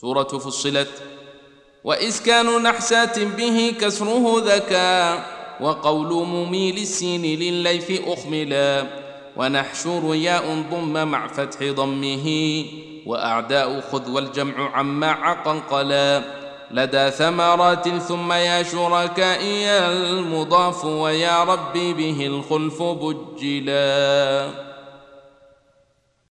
سورة فصلت. وإسكان نحسات به كسره ذكا، وقول مميل السين للليث أخملا، ونحشر ياء ضم مع فتح ضمه، وأعداء خذ والجمع عما عقنقلا، لدى ثمرات ثم يا شركائي المضاف، ويا ربي به الخلف بجلا.